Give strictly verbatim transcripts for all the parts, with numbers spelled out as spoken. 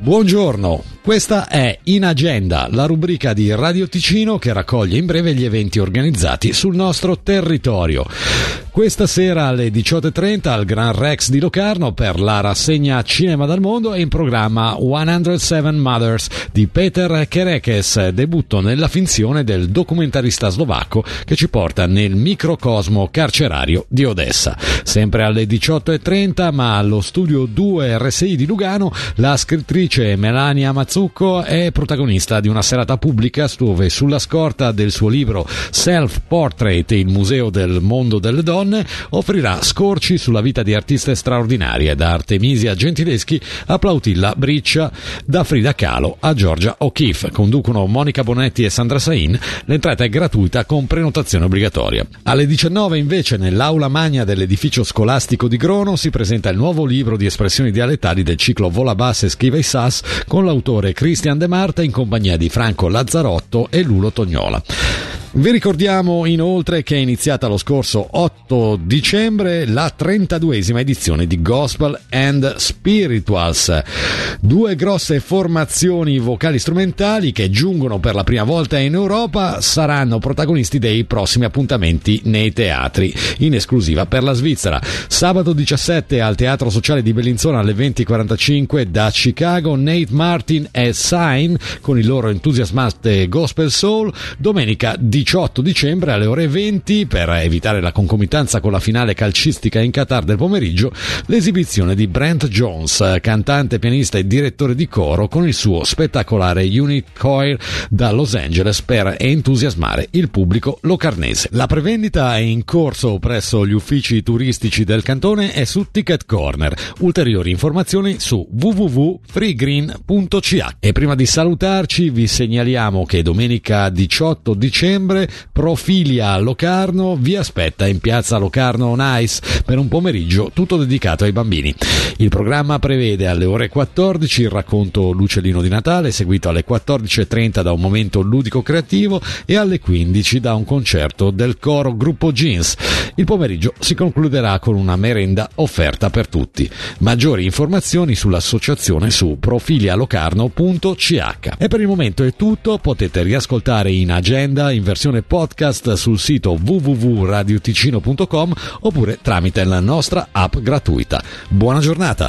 Buongiorno, questa è In Agenda, la rubrica di Radio Ticino che raccoglie in breve gli eventi organizzati sul nostro territorio. Questa sera alle diciotto e trenta al Gran Rex di Locarno per la rassegna Cinema dal Mondo è in programma centosette Mothers di Peter Kerekes, debutto nella finzione del documentarista slovacco che ci porta nel microcosmo carcerario di Odessa. Sempre alle diciotto e trenta, ma allo studio due R S I di Lugano, la scrittrice Melania Mazzucco è protagonista di una serata pubblica dove, sulla scorta del suo libro Self Portrait, il museo del mondo delle donne, offrirà scorci sulla vita di artiste straordinarie, da Artemisia Gentileschi a Plautilla Briccia, da Frida Kahlo a Georgia O'Keeffe. Conducono Monica Bonetti e Sandra Sain. L'entrata è gratuita con prenotazione obbligatoria. Alle diciannove invece, nell'aula magna dell'edificio scolastico di Grono, si presenta il nuovo libro di espressioni dialettali del ciclo Vola Basse Schiva i Sas, con l'autore Christian De Marta in compagnia di Franco Lazzarotto e Lulo Tognola. Vi ricordiamo inoltre che è iniziata lo scorso otto dicembre la trentaduesima edizione di Gospel and Spirituals, due grosse formazioni vocali strumentali che giungono per la prima volta in Europa, saranno protagonisti dei prossimi appuntamenti nei teatri, in esclusiva per la Svizzera. Sabato diciassette al Teatro Sociale di Bellinzona alle venti e quarantacinque, da Chicago Nate Martin e Sign con il loro entusiasmante Gospel Soul. Domenica diciotto dicembre alle ore venti, per evitare la concomitanza con la finale calcistica in Qatar del pomeriggio, l'esibizione di Brent Jones, cantante, pianista e direttore di coro, con il suo spettacolare Unit Choir da Los Angeles, per entusiasmare il pubblico locarnese. La prevendita è in corso presso gli uffici turistici del cantone e su Ticket Corner. Ulteriori informazioni su w w w punto freegreen punto c h. E prima di salutarci vi segnaliamo che domenica diciotto dicembre Profilia Locarno vi aspetta in piazza Locarno on Ice per un pomeriggio tutto dedicato ai bambini. Il programma prevede alle ore quattordici il racconto L'Uccellino di Natale, seguito alle quattordici e trenta da un momento ludico creativo e alle quindici da un concerto del coro Gruppo Jeans. Il pomeriggio si concluderà con una merenda offerta per tutti. Maggiori informazioni sull'associazione su profilialocarno punto c h. E per il momento è tutto. Potete riascoltare In Agenda in versione podcast sul sito w w w punto radio ticino punto com oppure tramite la nostra app gratuita. Buona giornata!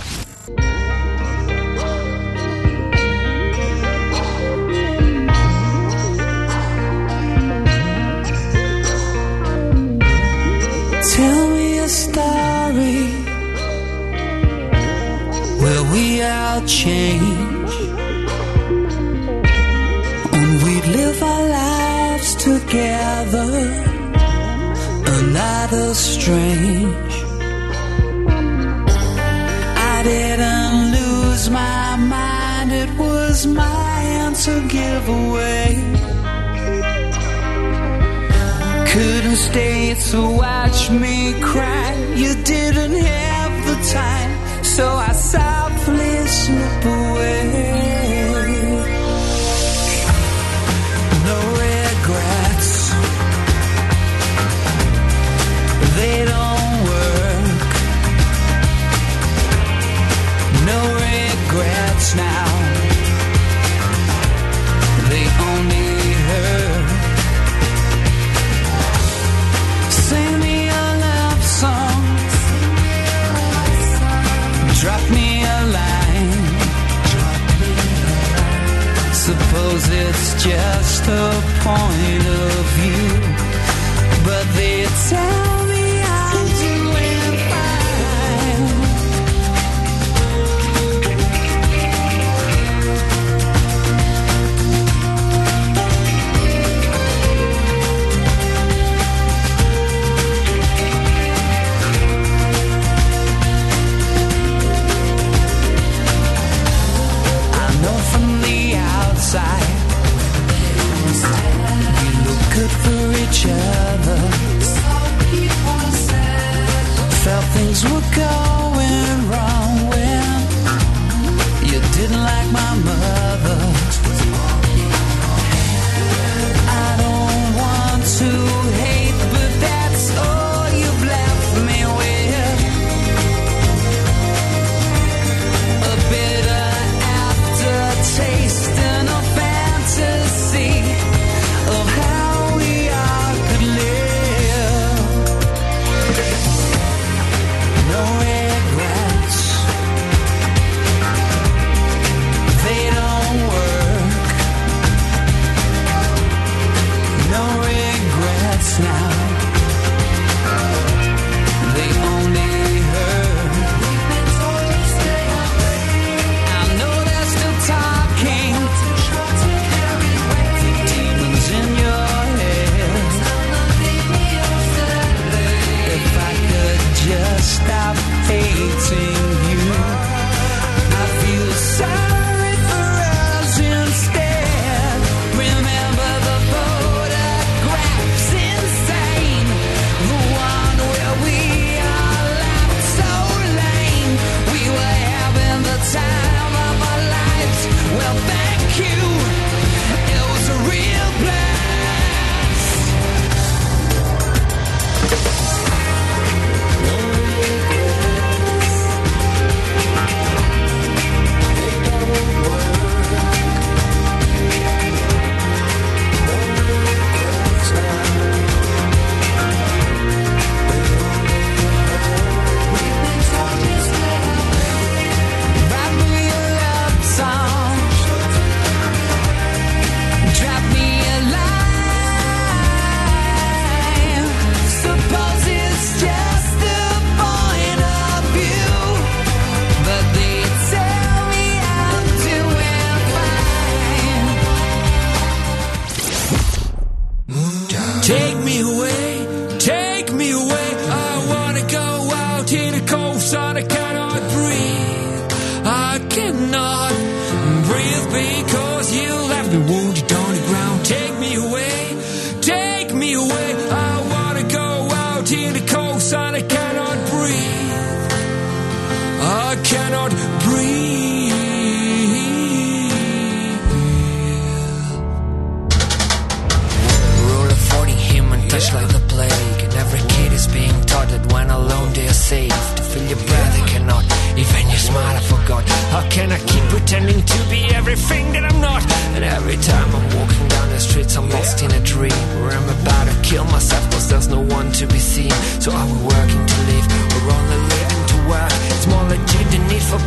Tell me a story where we all change and we live our lives together, another strange. I didn't lose my mind, it was my answer giveaway. Couldn't stay to watch me cry, you didn't have the time, so I softly slip away. No regrets, they don't work. No regrets now, they only hurt. Sing me a love song, drop me a line. Suppose it's just a point of view, but they tell me I'm doing fine. I know from the outside we look good for each other. Felt things were going wrong when you didn't like my mother. I don't want to hate, but that's all you've left me with. A bitter aftertaste. I cannot breathe because you left me wounded on the ground. Take me away, take me away. I wanna go out in the cold sun. I cannot breathe, I cannot breathe. Rule of forty, human touch like the plague, and every kid is being taught that when alone they are safe. To feel your breath I cannot, even your smile I forgot. How can I keep pretending to be everything that I'm not? And every time I'm walking down the streets I'm lost in a dream where I'm about to kill myself cause there's no one to be seen. So are we working to live or only living to work? It's more legit the need for